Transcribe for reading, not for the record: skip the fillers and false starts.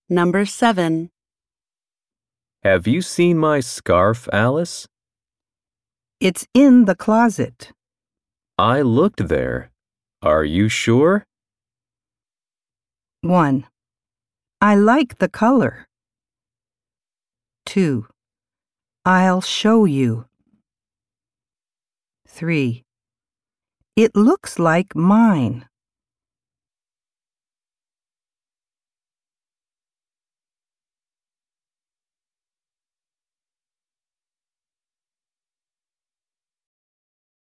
Number 7. Have you seen my scarf, Alice? It's in the closet. I looked there. Are you sure? 1. I like the color. 2. I'll show you. 3. It looks like mine.